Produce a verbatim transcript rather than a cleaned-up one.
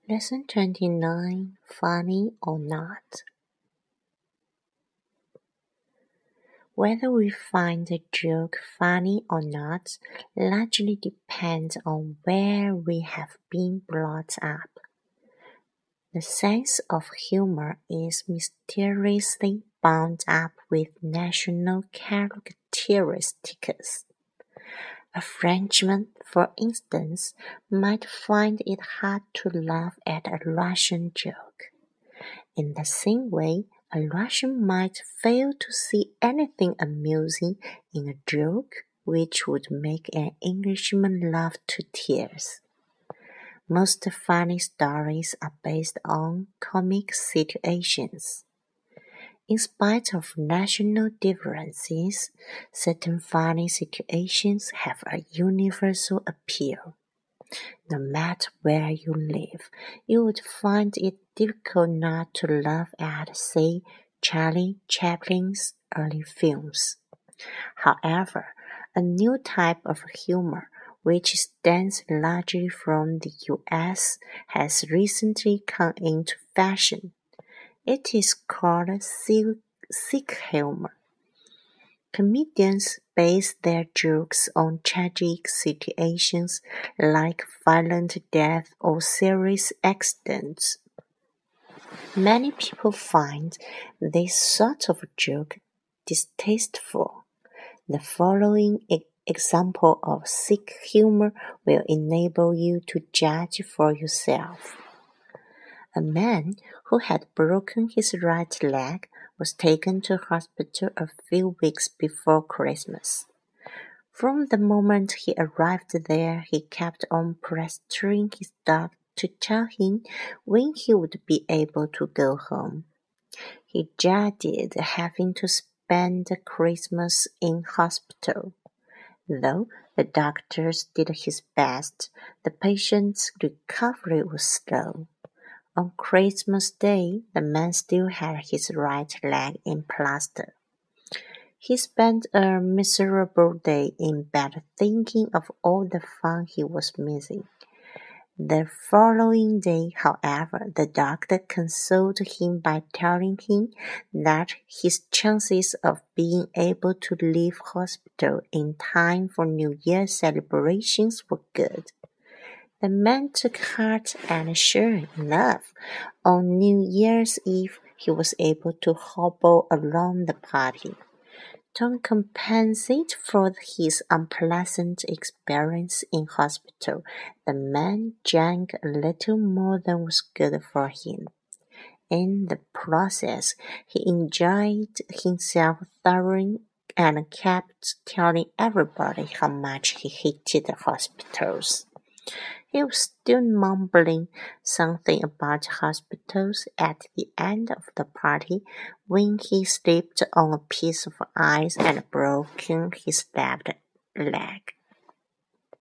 Lesson twenty-nine. Funny or not. Whether we find a joke funny or not largely depends on where we have been brought up. The sense of humor is mysteriously bound up with national characteristics. A Frenchman, for instance, might find it hard to laugh at a Russian joke. In the same way, a Russian might fail to see anything amusing in a joke which would make an Englishman laugh to tears. Most funny stories are based on comic situations. In spite of national differences, certain funny situations have a universal appeal. No matter where you live, you would find it difficult not to laugh at, say, Charlie Chaplin's early films. However, a new type of humor, which stems largely from the U S, has recently come into fashion. It is called sick humor. Comedians base their jokes on tragic situations like violent death or serious accidents. Many people find this sort of joke distasteful. The following e- example of sick humor will enable you to judge for yourself. A man who had broken his right leg was taken to hospital a few weeks before Christmas. From the moment he arrived there, he kept on pestering his doctor to tell him when he would be able to go home. He dreaded having to spend Christmas in hospital. Though the doctors did his best, the patient's recovery was slow. On Christmas Day, the man still had his right leg in plaster. He spent a miserable day in bed thinking of all the fun he was missing. The following day, however, the doctor consoled him by telling him that his chances of being able to leave hospital in time for New Year's celebrations were good. The man took heart, and sure enough, on New Year's Eve he was able to hobble along the party. To compensate for his unpleasant experience in hospital, the man drank a little more than was good for him. In the process, he enjoyed himself thoroughly and kept telling everybody how much he hated hospitals. He was still mumbling something about hospitals at the end of the party when he slipped on a piece of ice and broke his left leg.